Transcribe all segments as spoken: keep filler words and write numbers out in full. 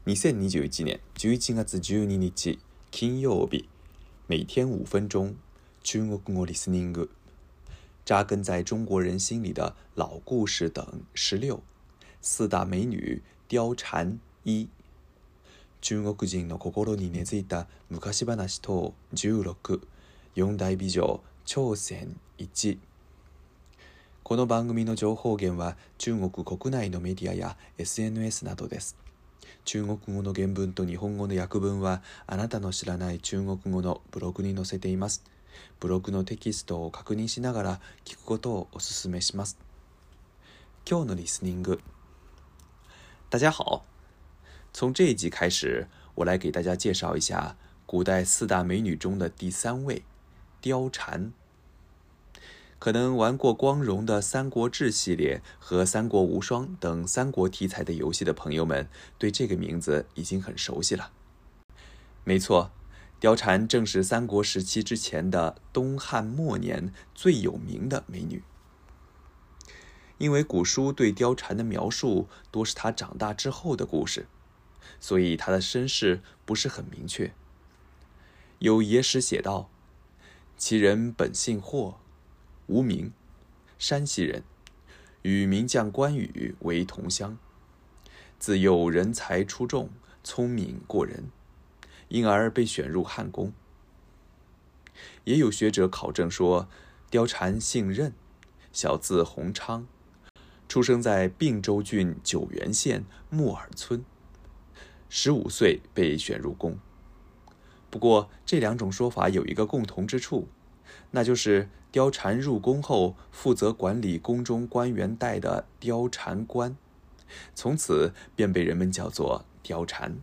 にせんにじゅういちねんじゅういちがつじゅうににち金曜日，每天五分钟，中国語 listening， 扎根在中国人心里的老故事等十六，四大美女貂蝉一，中国人の心に根付いた昔話等じゅうろく、四大美女挑戦いち。この番組の情報源は中国国内のメディアや エスエヌエス などです。中国語の原文と日本語の訳文はあなたの知らない中国語のブログに載せています。ブログのテキストを確認しながら聞くことをお勧めします。今日のリスニング。大家好，从这一集开始，我来给大家介绍一下古代四大美女中的第三位，貂蝉。可能玩过光荣的《三国志》系列和《三国无双》等三国题材的游戏的朋友们，对这个名字已经很熟悉了。没错，貂蝉正是三国时期之前的东汉末年最有名的美女。因为古书对貂蝉的描述多是她长大之后的故事，所以她的身世不是很明确。有野史写道，其人本姓霍，无名，山西人，与名将关羽为同乡。自幼人才出众，聪明过人，因而被选入汉宫。也有学者考证说，貂蝉姓任，小字弘昌，出生在并州郡九原县木耳村，十五岁被选入宫。不过这两种说法有一个共同之处，那就是貂蝉入宫后负责管理宫中官员带的貂蝉官，从此便被人们叫做貂蝉。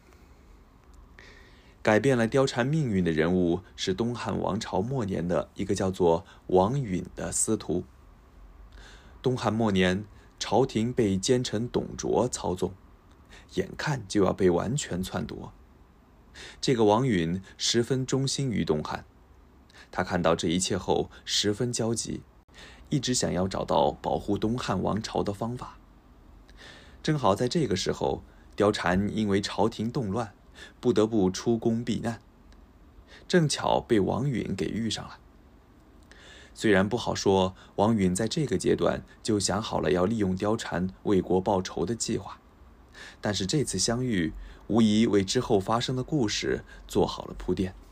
改变了貂蝉命运的人物是东汉王朝末年的一个叫做王允的司徒。东汉末年，朝廷被奸臣董卓操纵，眼看就要被完全篡夺。这个王允十分忠心于东汉，他看到这一切后十分焦急，一直想要找到保护东汉王朝的方法。正好在这个时候，貂蝉因为朝廷动乱，不得不出宫避难，正巧被王允给遇上了。虽然不好说王允在这个阶段就想好了要利用貂蝉为国报仇的计划，但是这次相遇无疑为之后发生的故事做好了铺垫。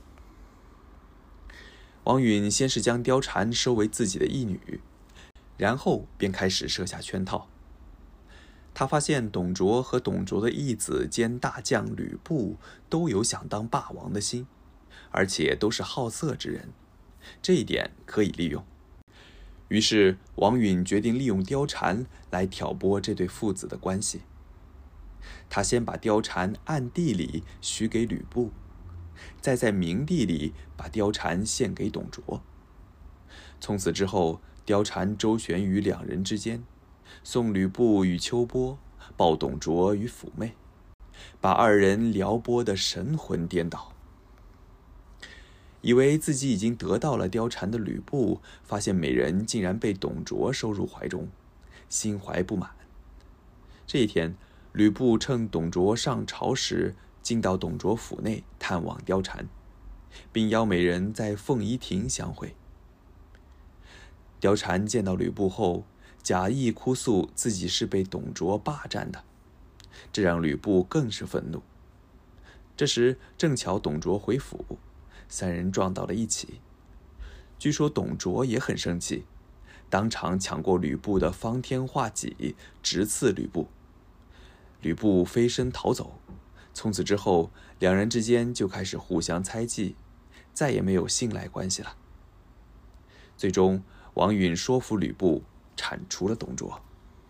王允先是将貂蝉收为自己的义女，然后便开始设下圈套。他发现董卓和董卓的义子兼大将吕布都有想当霸王的心，而且都是好色之人，这一点可以利用。于是王允决定利用貂蝉来挑拨这对父子的关系。他先把貂蝉暗地里许给吕布，再在明地里把貂蝉献给董卓。从此之后，貂蝉周旋于两人之间，送吕布与秋波，抱董卓与辅妹，把二人撩拨得神魂颠倒。以为自己已经得到了貂蝉的吕布，发现美人竟然被董卓收入怀中，心怀不满。这一天，吕布趁董卓上朝时，进到董卓府内探望貂蝉，并邀美人在凤仪亭相会。貂蝉见到吕布后，假意哭诉自己是被董卓霸占的，这让吕布更是愤怒。这时正巧董卓回府，三人撞到了一起。据说董卓也很生气，当场抢过吕布的方天画戟，直刺吕布。吕布飞身逃走，从此之后，两人之间就开始互相猜忌，再也没有信赖关系了。最终，王允说服吕布铲除了董卓。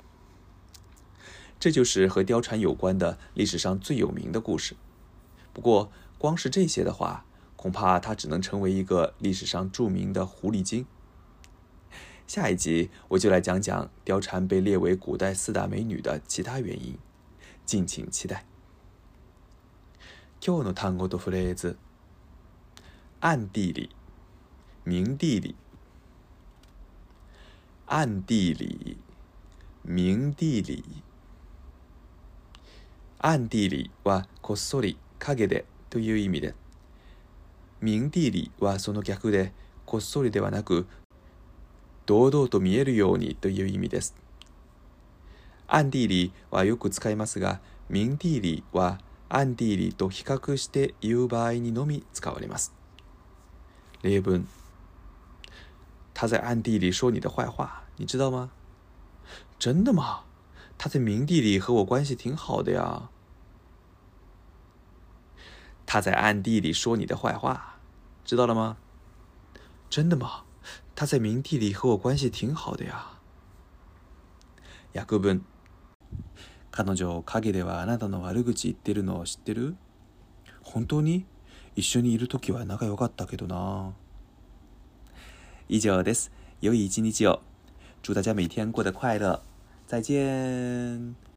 这就是和貂蝉有关的历史上最有名的故事。不过，光是这些的话，恐怕它只能成为一个历史上著名的狐狸精。下一集我就来讲讲貂蝉被列为古代四大美女的其他原因，敬请期待。今日の単語とフレーズ。暗地里、明地里。暗地里、明地里。 暗地里はこっそり、影でという意味で、明地里はその逆で、こっそりではなく、堂々と見えるようにという意味です。暗地里はよく使いますが、明地里は暗地里と比較して言う場合にのみ使われます。例文。他在暗地里说你的坏话，你知道吗？真的吗？他在明地里和我关系挺好的呀。他在暗地里说你的坏话，知道了吗？真的吗？他在明地里和我关系挺好的呀。訳文。彼女、陰ではあなたの悪口言ってるのを知ってる？本当に？一緒にいるときは仲良かったけどな。以上です。良い一日を。祝大家每天过得快乐。再见。